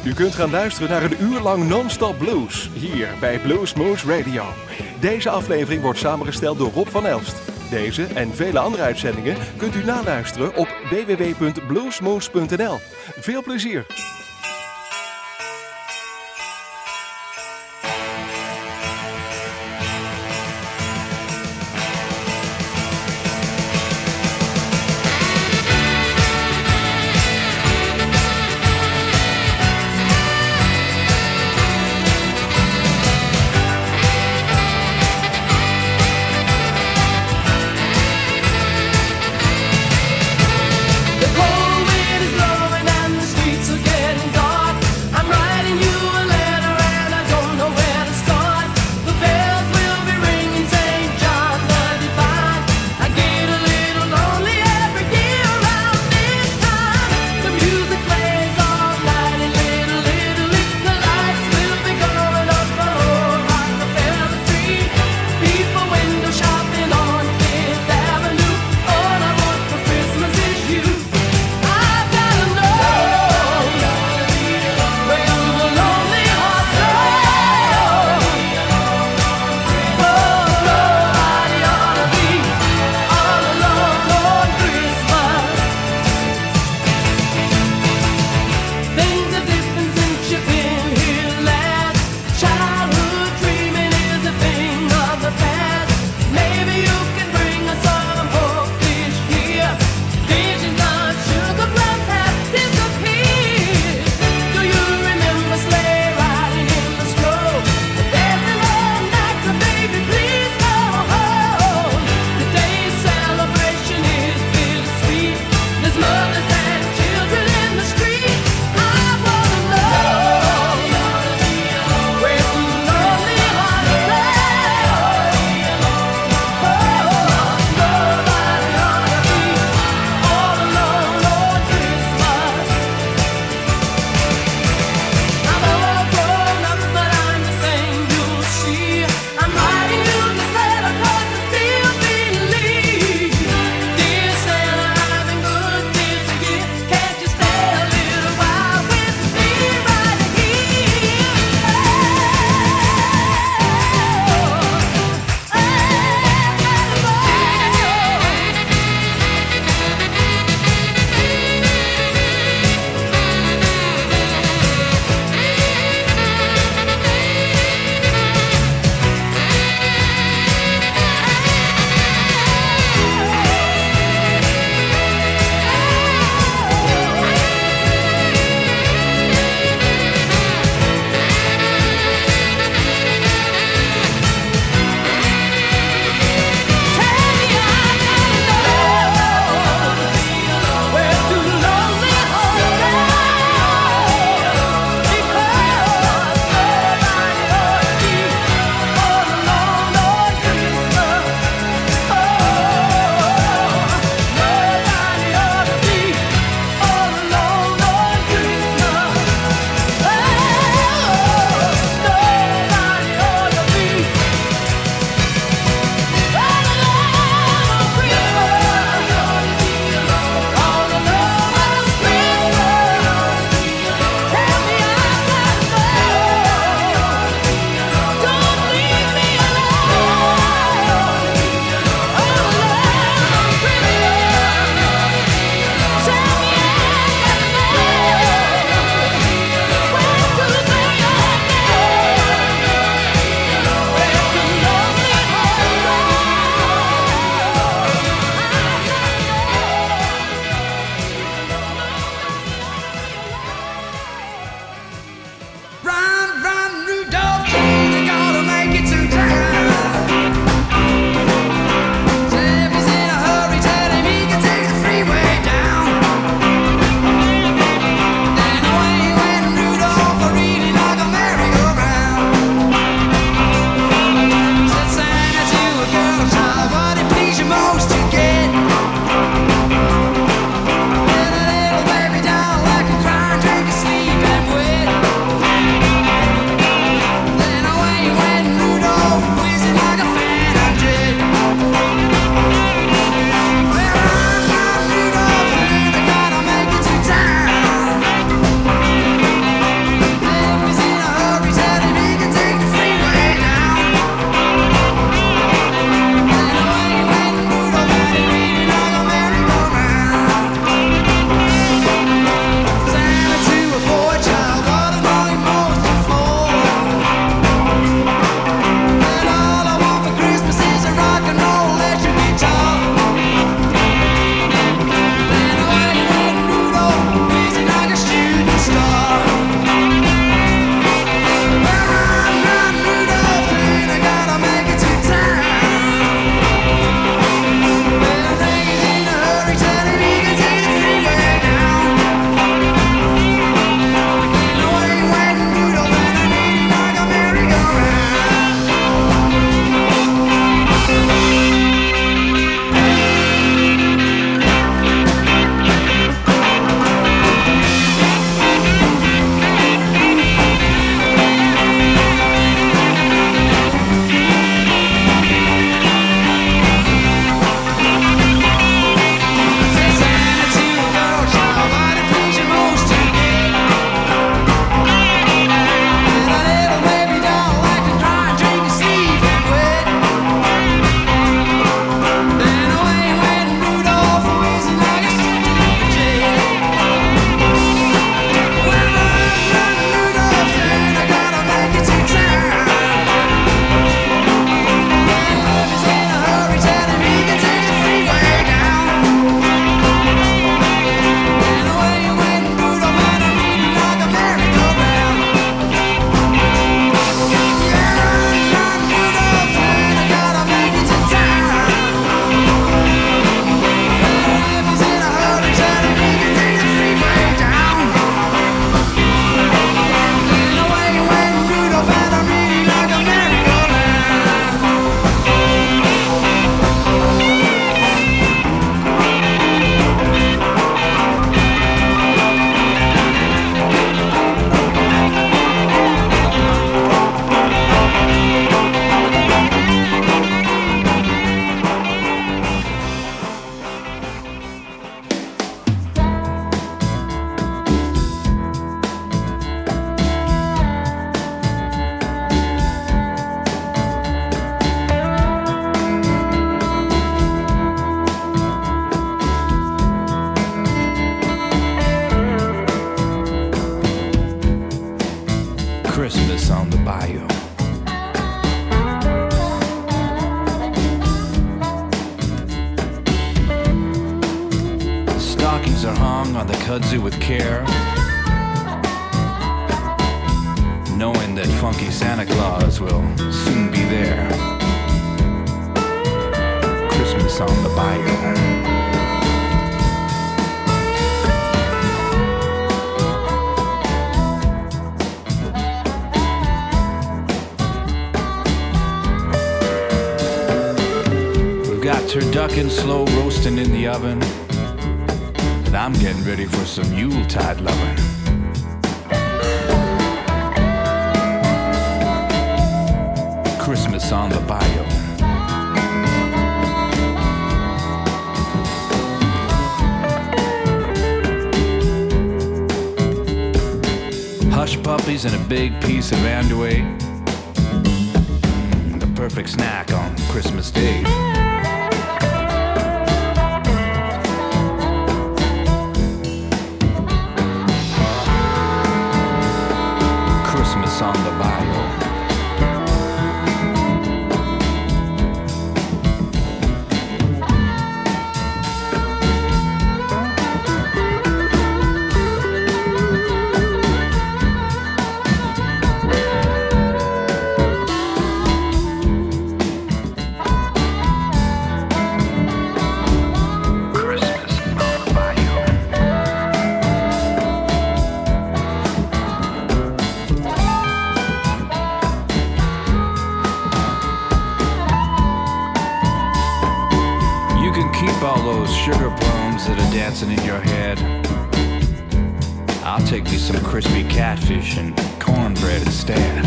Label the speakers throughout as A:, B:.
A: U kunt gaan luisteren naar een uur lang non-stop blues, hier bij Bluesmoose Radio. Deze aflevering wordt samengesteld door Rob van Elst. Deze en vele andere uitzendingen kunt u naluisteren op www.bluesmoose.nl. Veel plezier!
B: The cold wind is blowing and the streets are getting on the bayou. The stockings are hung on the kudzu with care, knowing that funky Santa Claus will soon be there. Christmas on the bayou. Got turducken slow roasting in the oven, and I'm getting ready for some Yuletide loving. Christmas on the bayou. Hush puppies and a big piece of andouille, the perfect snack on Christmas Day. Christmas on the bayou. Sugar plums that are dancing in your head. I'll take me some crispy catfish and cornbread instead.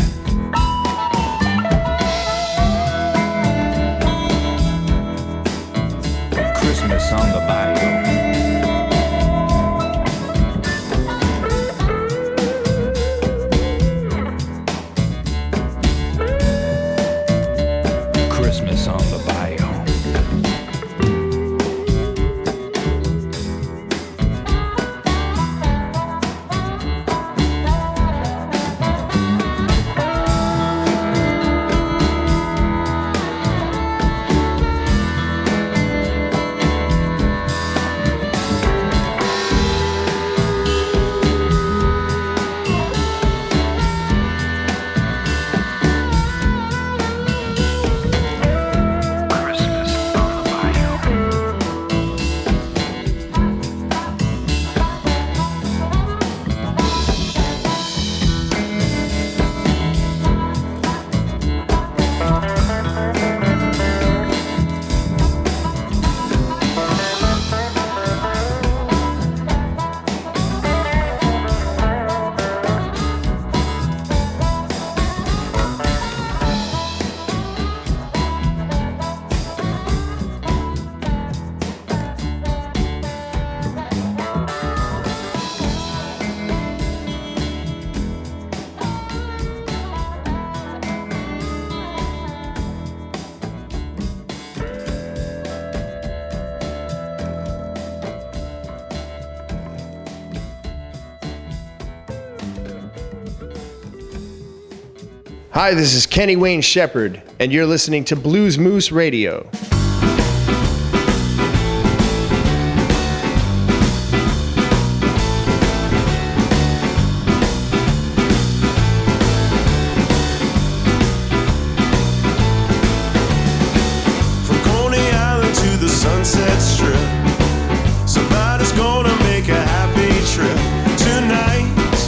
B: Christmas on the bayou. Christmas on the bayou.
C: Hi, this is Kenny Wayne Shepherd, and you're listening to Blues Moose Radio.
D: From Coney Island to the Sunset Strip, somebody's gonna make a happy trip tonight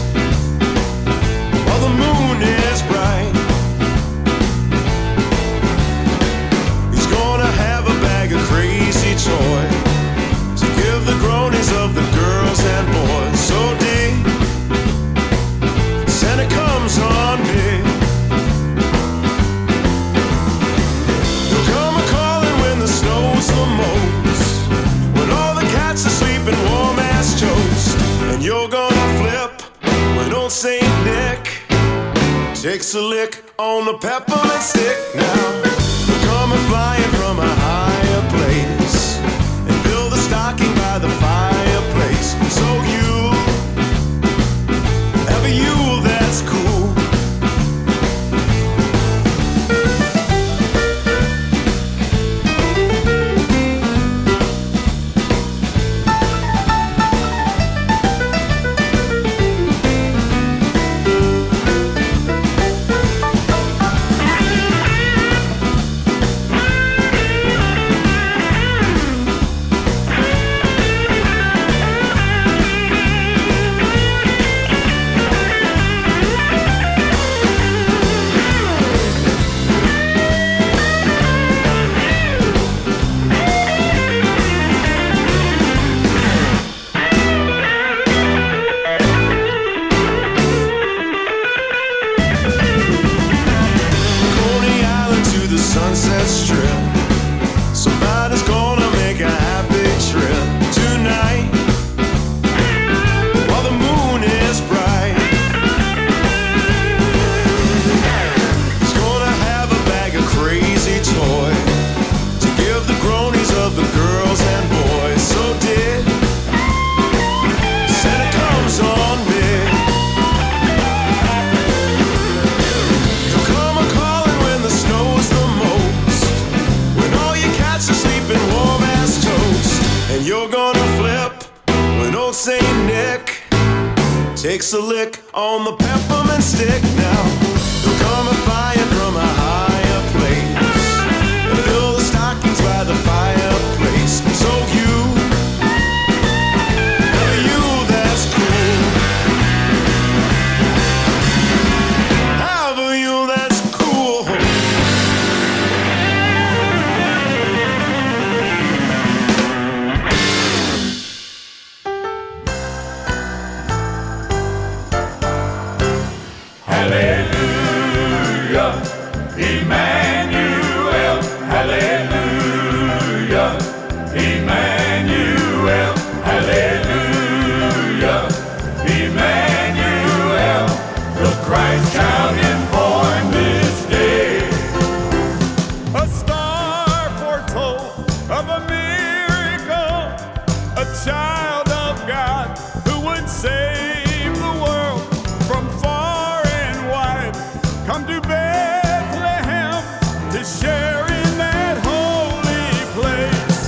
D: while the moon is bright. To give the groanies of the girls and boys. So day, Santa comes on day. He'll come a-calling when the snow's the most, when all the cats are sleeping warm as toast. And you're gonna flip when old Saint Nick takes a lick on the peppermint stick. Now, come flying from a higher place, stocking by the fireplace. So you have a Yule that's cool. you're gonna flip when old Saint Nick takes a lick on the peppermint stick. Now he'll come a fire from a higher place and fill the stockings by the fireplace. So you that's cool. Have a you that's cool.
E: Hallelujah, Emmanuel, hallelujah, Emmanuel, hallelujah, Emmanuel, the Christ child is born this day.
F: A star foretold of a miracle, a child of God who would save the world from far and wide. Come to Bethlehem to share in that holy place.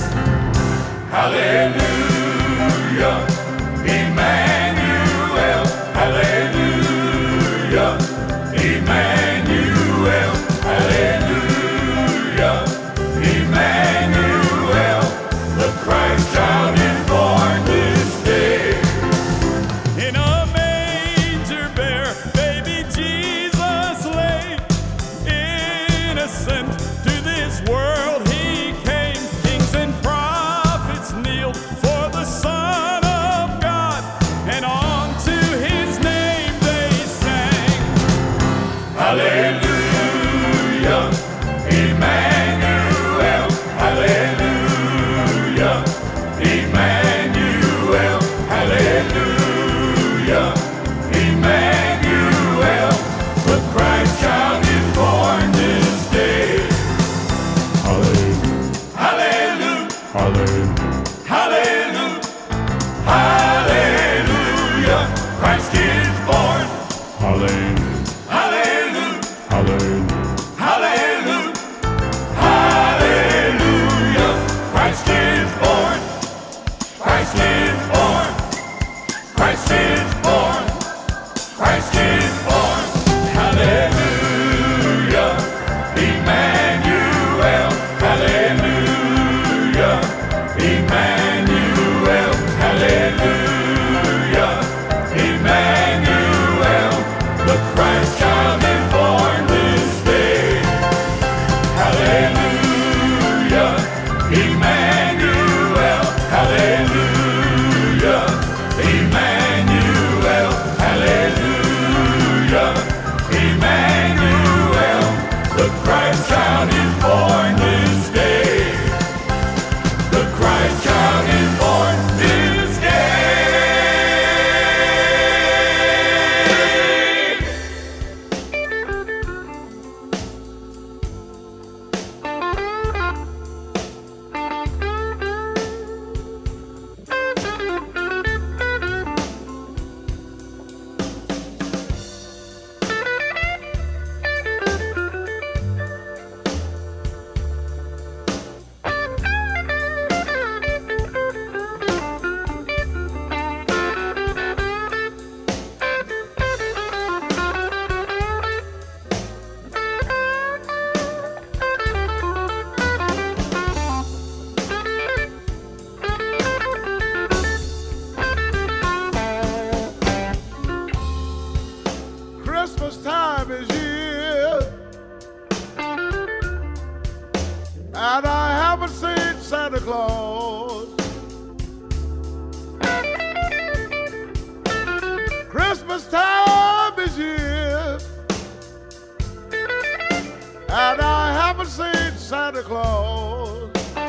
E: Hallelujah, Emmanuel, hallelujah, Emmanuel, hallelujah, Emmanuel, the Christ child is born this day.
F: In a manger bare, baby Jesus lay. Innocent to this world he came. Kings and prophets kneeled for the Son of God, and unto his name they sang.
E: Hallelujah, Emmanuel, hallelujah, Emmanuel, hallelujah, Emmanuel, the Christ child is born this day. Hallelujah, hallelujah, hallelujah, hallelujah, Christ is born. Hallelujah. Hallelujah, hallelujah, hallelujah, Christ is born, Christ is born, Christ is born, Christ is born, hallelujah, Emmanuel, hallelujah, Emmanuel, hallelujah, Emmanuel, the Christ child is born this day. Hallelujah, Emmanuel, hallelujah, Emmanuel, hallelujah, Emmanuel, the Christ child is born this day. The Christ child is born this day.
F: Christmas time is here, and I haven't seen Santa Claus. Christmas time is here, and I haven't seen Santa Claus.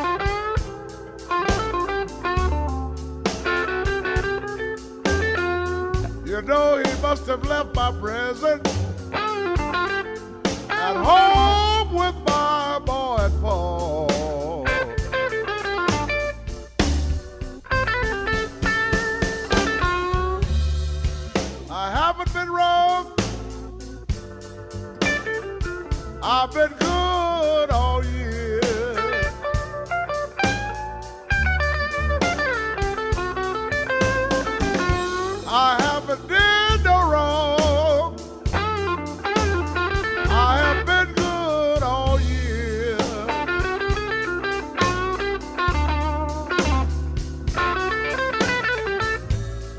F: You know he must have left my present at home with my boy Paul. I haven't been wrong. I've been good all year.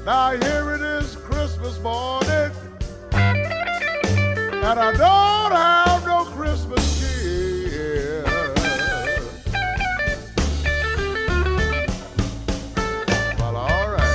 G: Now here it is Christmas morning, and I don't have no Christmas cheer. Well, all right.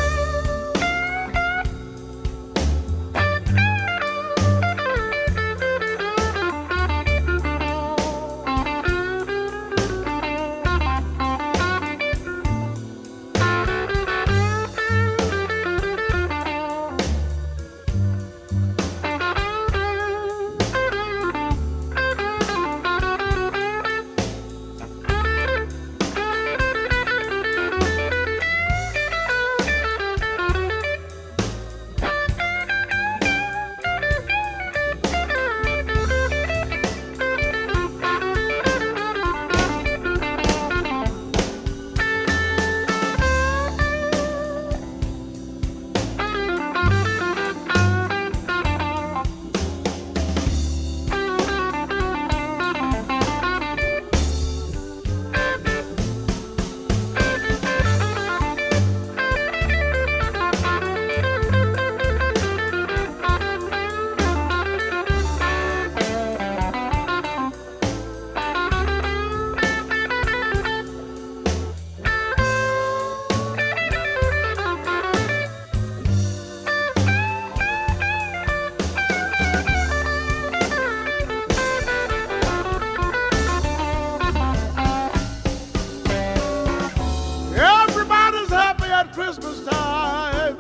G: Christmas time,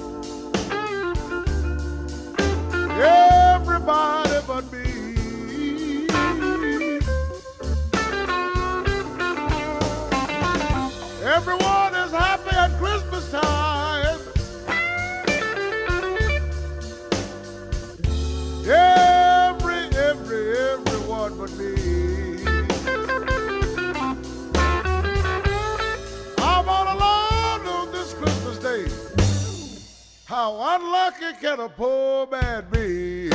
G: everybody but me. Everyone is happy at Christmas time. Everyone but me. I'm all alone on this Christmas day. How unlucky can a poor man be?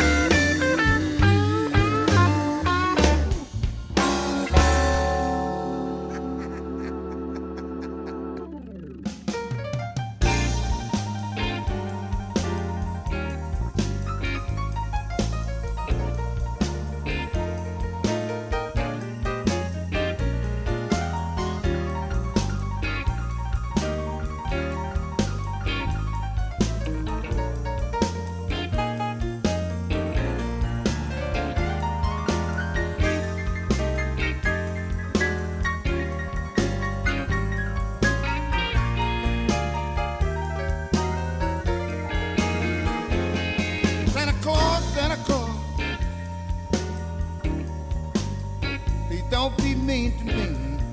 G: Santa Claus, please don't be mean to me.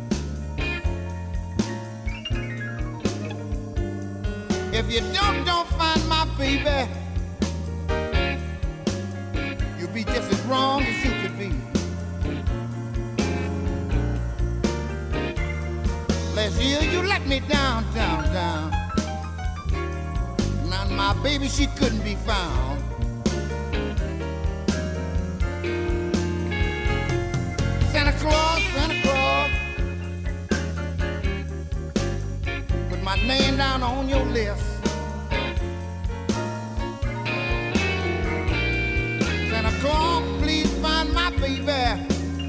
G: If you don't find my baby, you'll be just as wrong as you could be. Last year you let me down. Now my baby, she couldn't be found. Santa Claus, put my name down on your list. Santa Claus, please find my baby.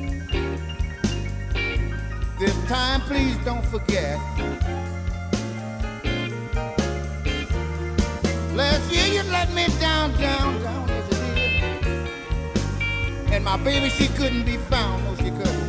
G: This time, please don't forget. Last year you let me down as you did. And my baby, she couldn't be found, no she couldn't.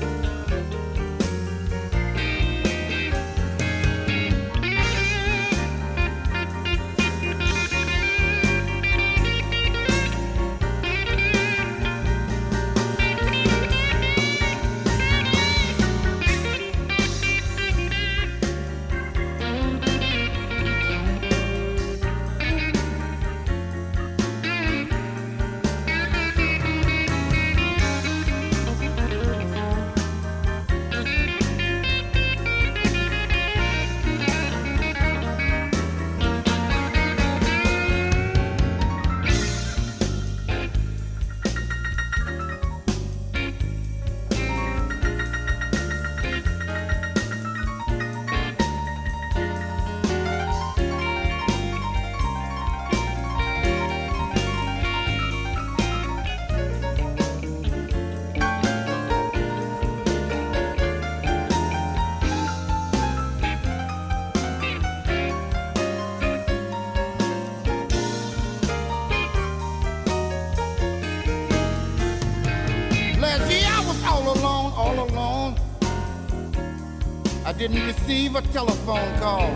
H: didn't receive a telephone call.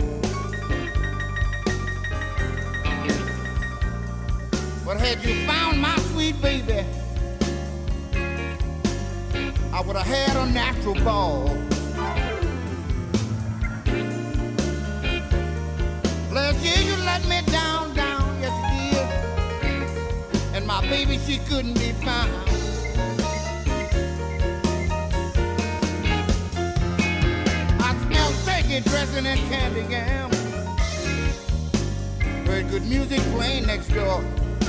H: But had you found my sweet baby, I would have had a natural ball. Last year you let me down, yes you did. And my baby, she couldn't be found. I smelled turkey dressing and candy jam. Heard good music playing next door.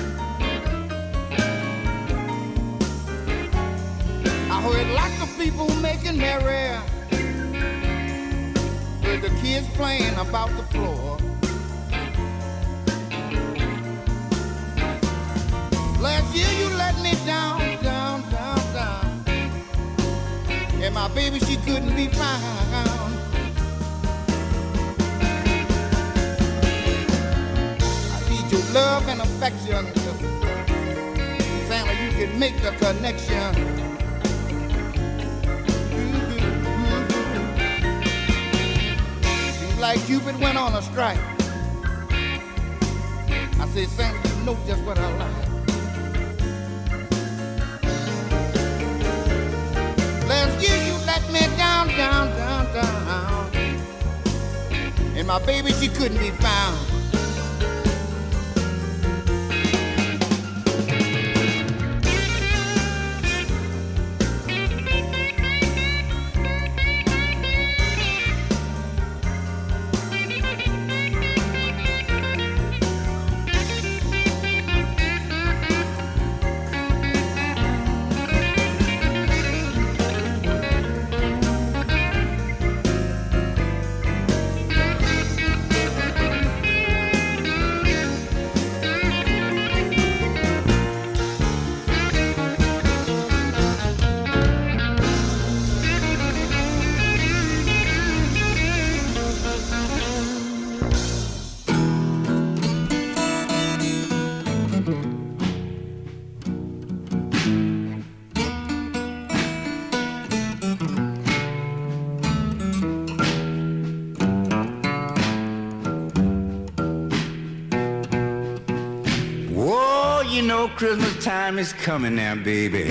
H: I heard lots of people making merry. Heard the kids playing about the floor. Last year you let me down. And my baby, she couldn't be found. I need your love and affection. Family, you can make the connection. Like Cupid went on a strike. I said, Santa, you know just what I like. Last year you let me down. And my baby, she couldn't be found.
B: Christmas time is coming now, baby.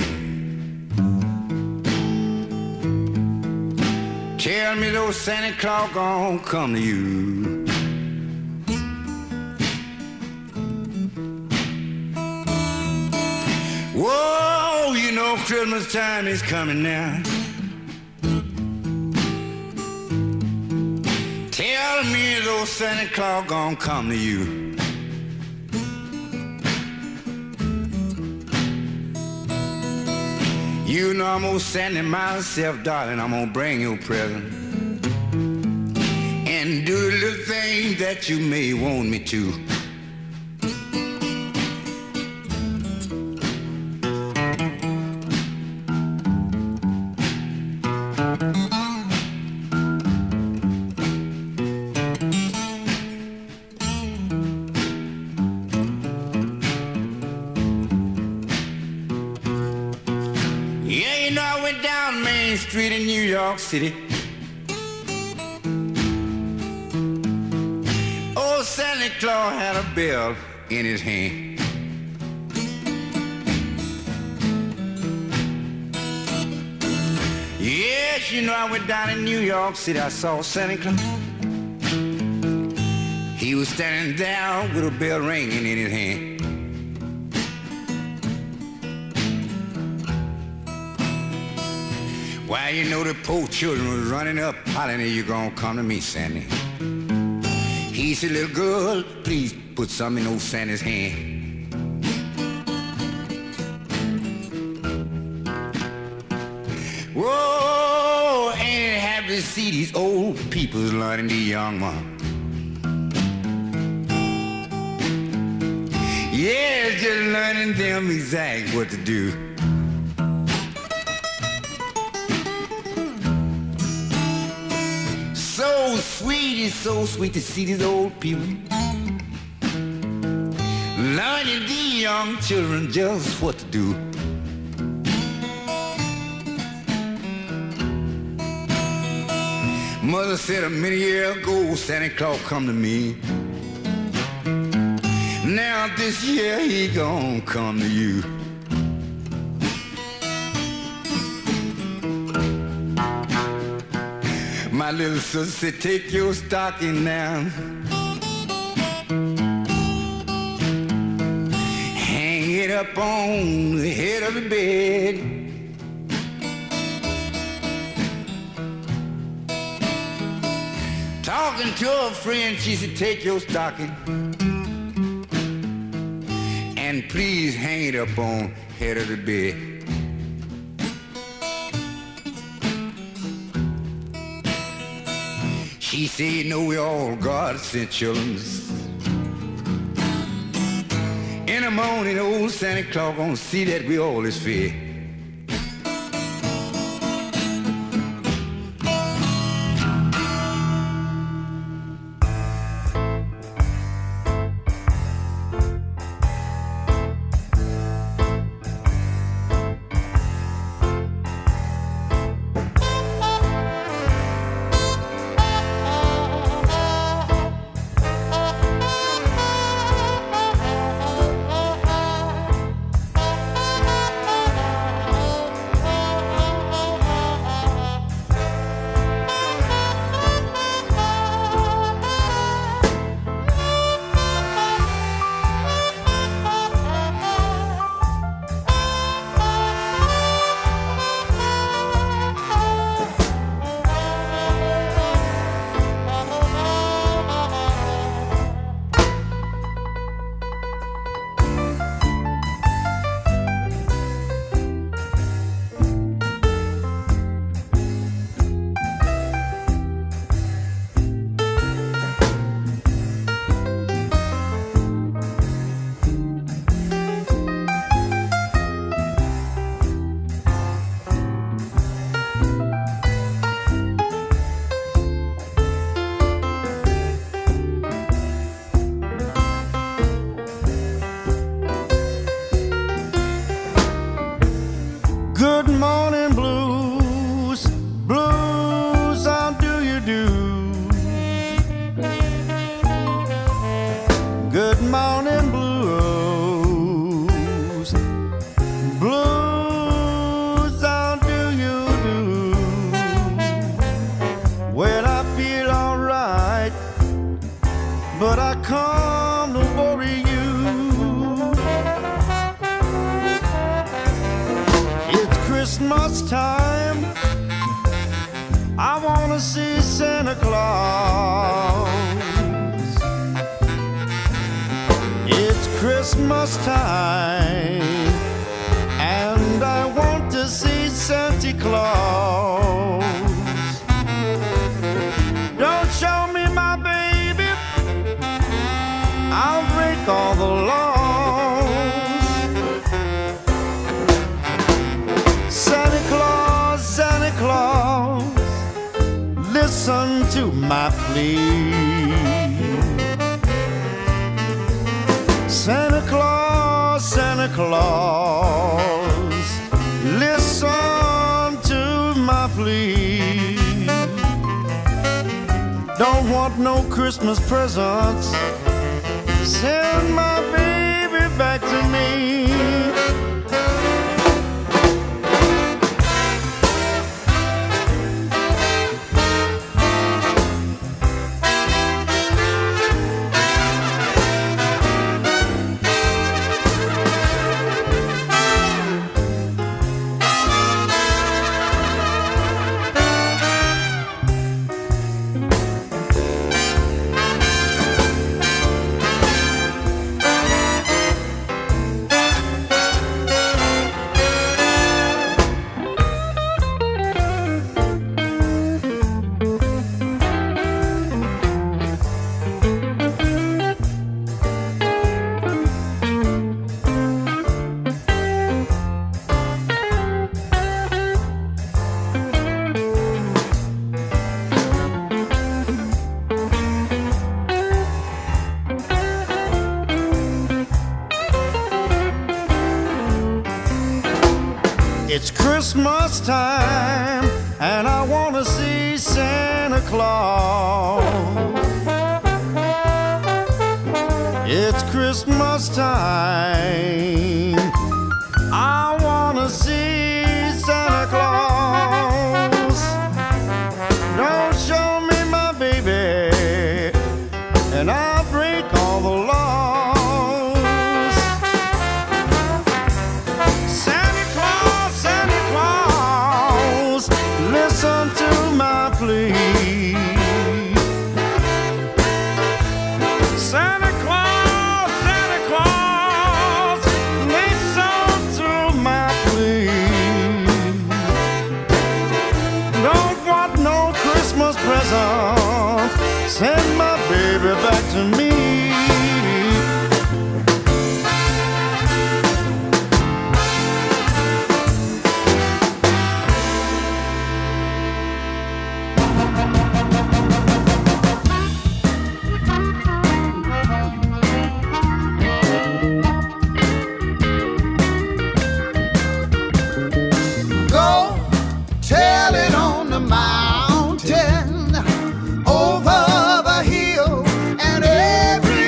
B: Tell me those Santa Claus gon' come to you. Whoa, you know Christmas time is coming now. Tell me those Santa Claus gon' come to you. You know I'm gonna send it myself, darling. I'm gonna bring you a present and do the little things that you may want me to. Street in New York City. Old Santa Claus had a bell in his hand. Yes, you know I went down in New York City. I saw Santa Claus. He was standing there with a bell ringing in his hand. Why, you know the poor children was running up, hollering, "You gonna come to me, Sandy?" He said, "Little girl, please put something in old Santa's hand." Whoa, ain't it happy to see these old people learning the young one? Yeah, just learning them exactly what to do. It's so sweet to see these old people learning the young children just what to do. Mother said a many years ago Santa Claus come to me. Now this year he gon' come to you. My little sister said, take your stocking down, hang it up on the head of the bed. Talking to a friend, she said, take your stocking and please hang it up on head of the bed. She said, you know we all God sent children. In the morning, old Santa Claus gonna see that we all is fed.
H: Good morning blues, blues, how do you do? Good morning blues, blues, how do you do? Well, I feel alright, but I come to worry you. Christmas time, I wanna see Santa Claus. It's Christmas time, and I want to see Santa Claus. Don't show me my baby, I'll break all the laws. Santa Claus, Santa Claus, listen to my plea. Santa Claus, Santa Claus, listen to my plea. Don't want no Christmas presents, send my baby back to me. It's Christmas time, and I want to see Santa Claus.
I: Claus. It's Christmas time. I wanna see Santa Claus. Don't show me my baby, and I'll break all the laws. Santa Claus, Santa Claus, listen to my plea. Santa Claus, Santa Claus, listen to my plea. Don't want no Christmas present, send my baby back to me.
H: Go tell it on the mountain, over the hill, and every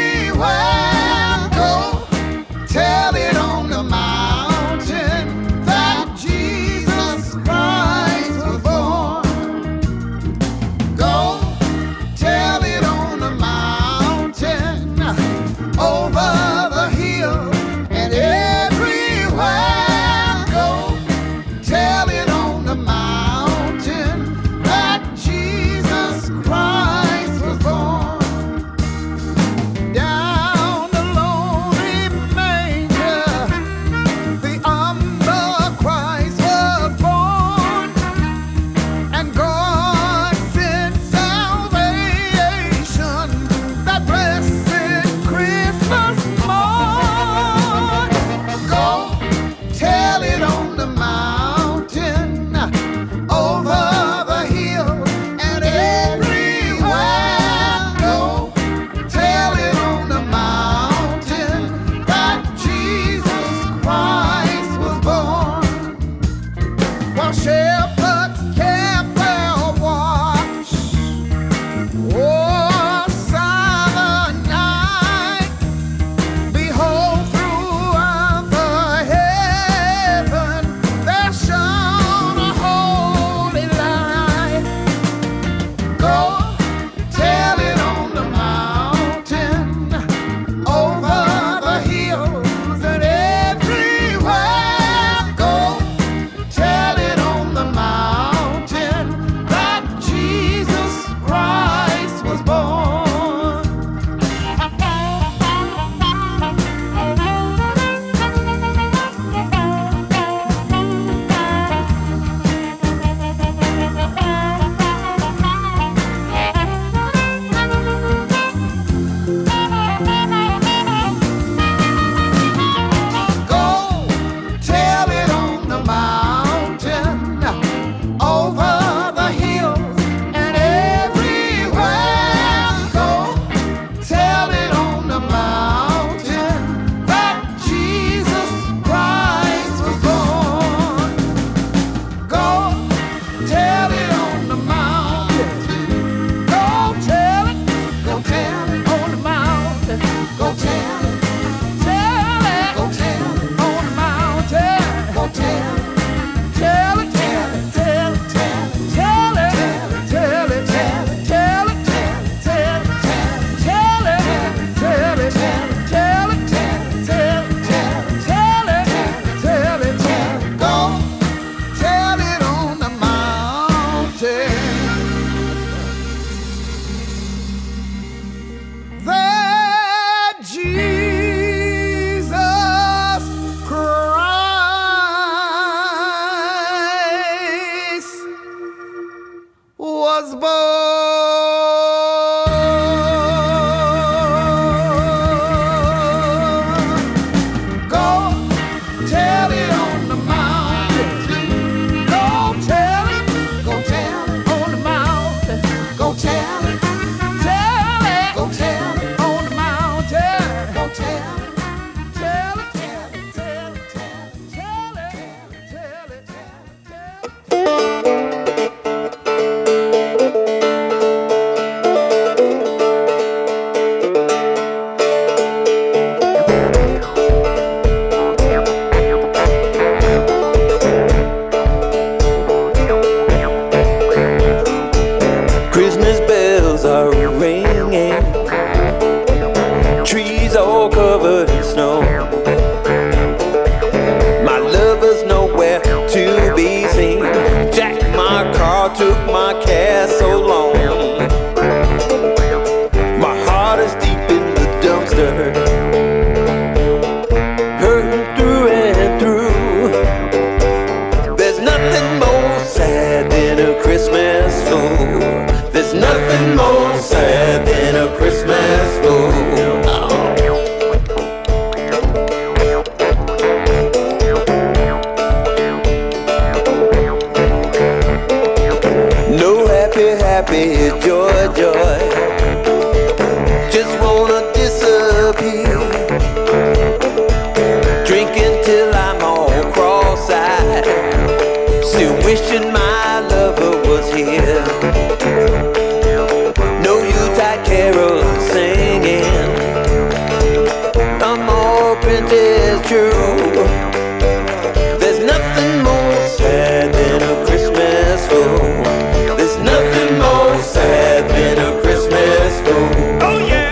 J: true. There's nothing more sad than a Christmas fool. There's nothing more sad than a Christmas fool.
F: Oh yeah.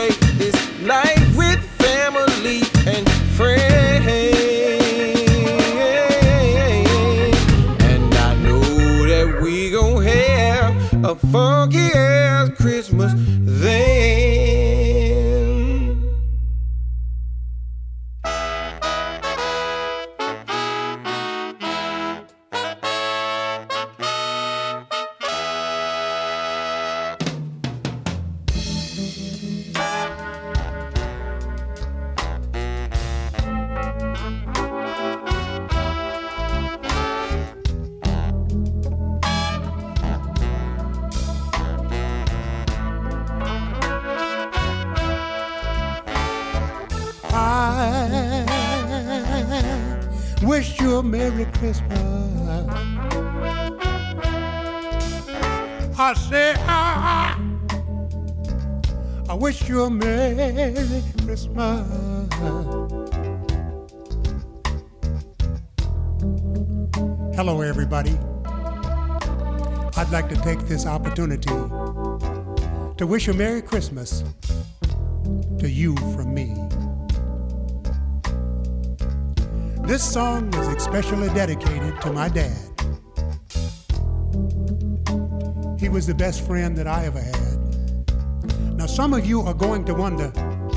K: celebrate this life with family and friends. And I know that we gon' have a funky ass Christmas then.
L: Wish you a Merry Christmas. I say I wish you a Merry Christmas. Hello everybody. I'd like to take this opportunity to wish a Merry Christmas to you from me. This song is especially dedicated to my dad. He was the best friend that I ever had. Now, some of you are going to wonder,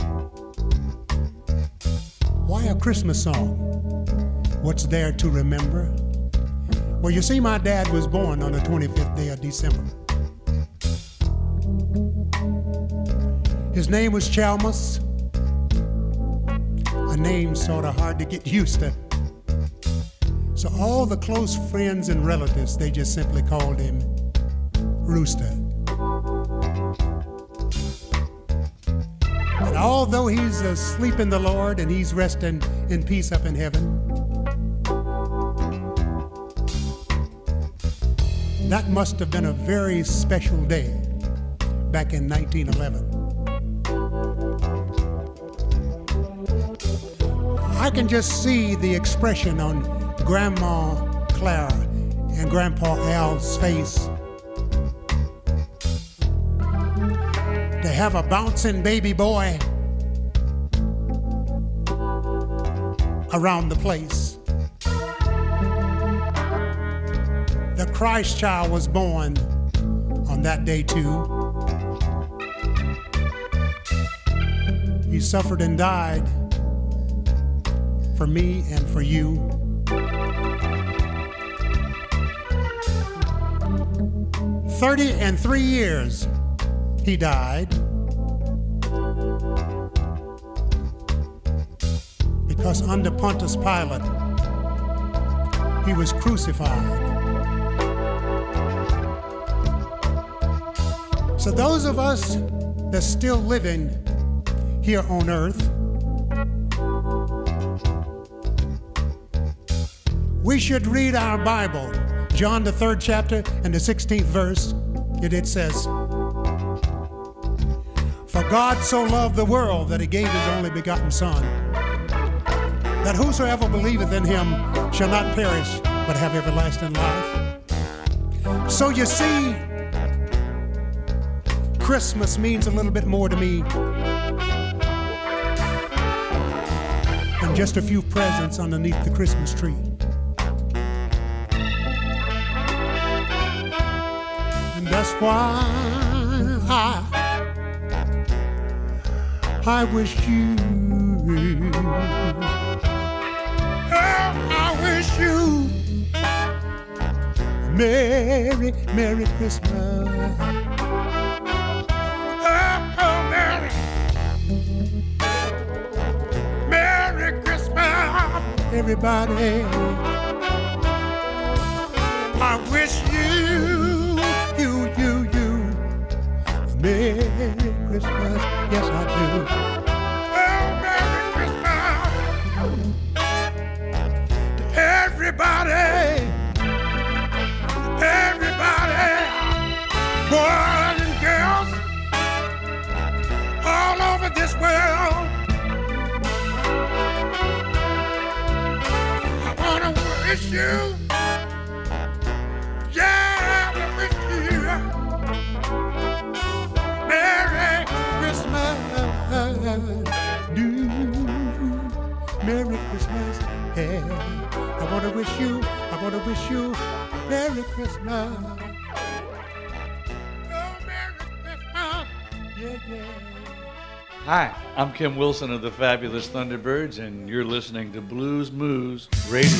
L: why a Christmas song? What's there to remember? Well, you see, my dad was born on the 25th day of December. His name was Chalmers. A name sort of hard to get used to. So all the close friends and relatives, they just simply called him Rooster. And although he's asleep in the Lord and he's resting in peace up in heaven, that must have been a very special day back in 1911. I can just see the expression on Grandma Clara and Grandpa Al's face. To have a bouncing baby boy around the place. The Christ child was born on that day too. He suffered and died for me and for you. "33 years he died because under Pontius Pilate he was crucified. So those of us that's still living here on earth, we should read our Bible. John, the 3rd chapter and the 16th verse, it says, "For God so loved the world that he gave his only begotten Son, that whosoever believeth in him shall not perish, but have everlasting life." So you see, Christmas means a little bit more to me than just a few presents underneath the Christmas tree. That's why I wish you, I wish you Merry, Merry Christmas. Oh, Merry, Merry Christmas, everybody. I wish you Merry Christmas, yes I do. Oh, Merry Christmas to everybody, everybody, boys and girls all over this world. I wanna wish you, yeah, I wish you Merry Christmas. do. Merry Christmas, hey. I want to wish you Merry Christmas. Oh, Merry Christmas, yeah.
M: Hi, I'm Kim Wilson of the Fabulous Thunderbirds, and you're listening to Blues Moose Radio.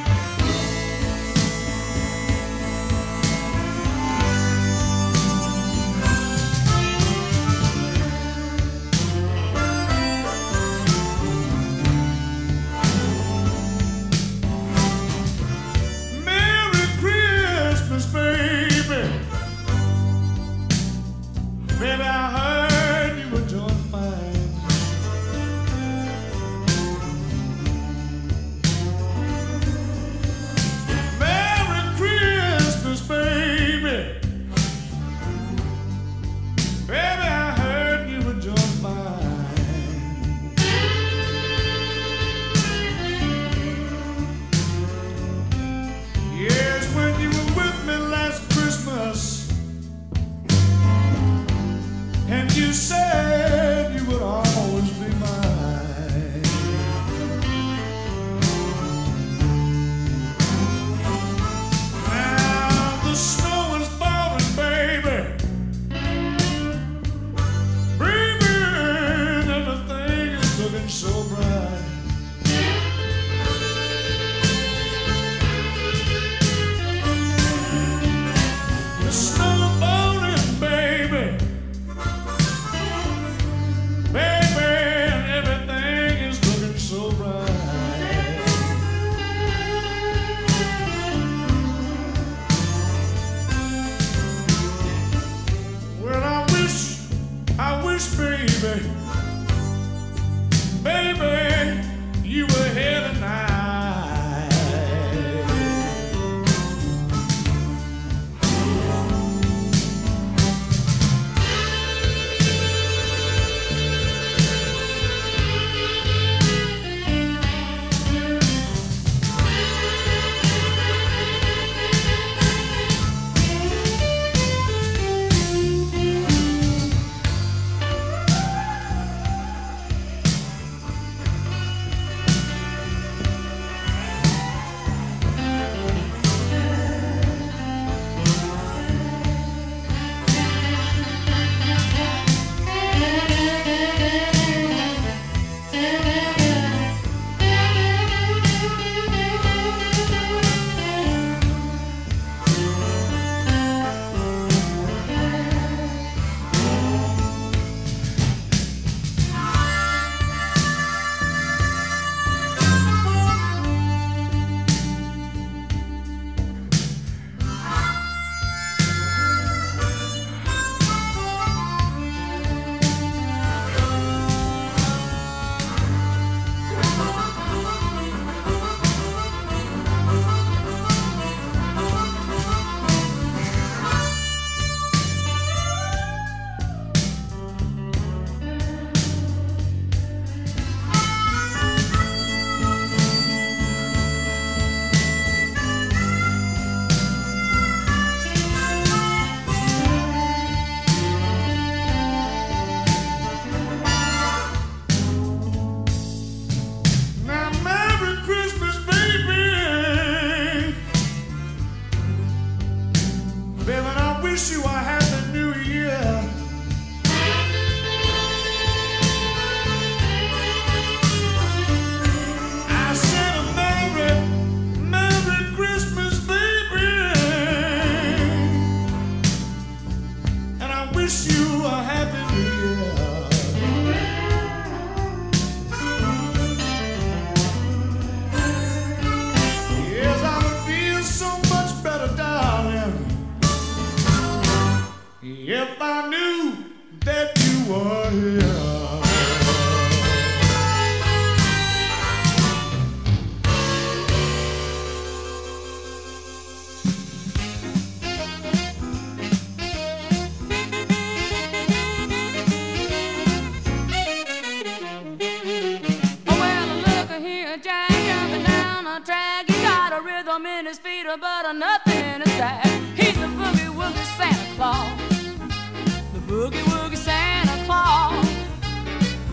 N: But nothing in his sack. He's a boogie woogie Santa Claus. The boogie woogie Santa Claus.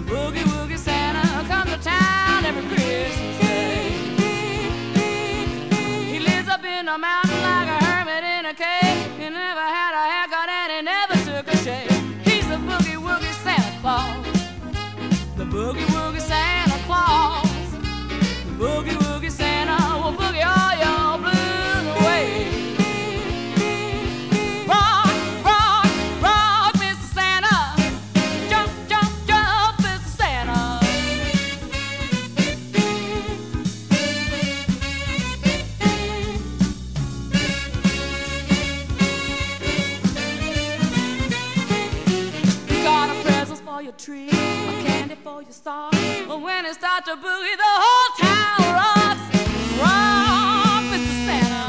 N: boogie woogie Santa Claus. The boogie woogie Santa will boogie all your blues away. Rock, rock, rock, Mr. Santa. Jump, jump, jump, Mr. Santa. He's got a present for your tree, a candy for your star. But when it starts to boogie, the whole town rocks. Rock, Mr. Santa.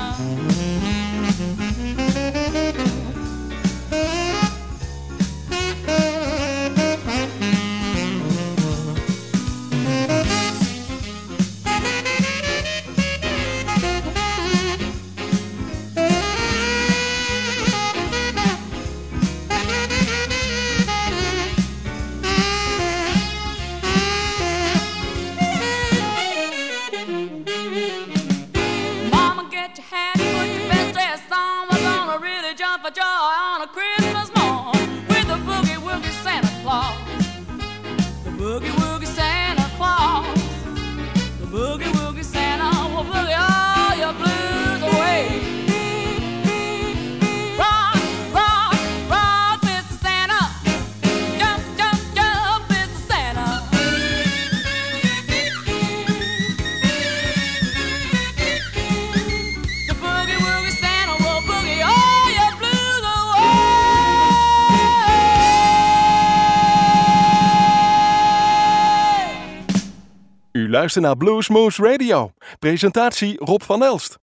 N: Mama, get your hat, put your best dress on. We're gonna really jump for joy on a Christmas morn with the boogie woogie Santa Claus. The boogie woogie Santa Claus. The boogie woogie Santa will boogie all your blues away. Rock, rock, rock, Mr. Santa. Jump, jump, jump, Mr. Santa. The boogie woogie Santa will boogie all your blues away.
A: U luistert naar Bluesmoose Radio. Presentatie Rob van Elst.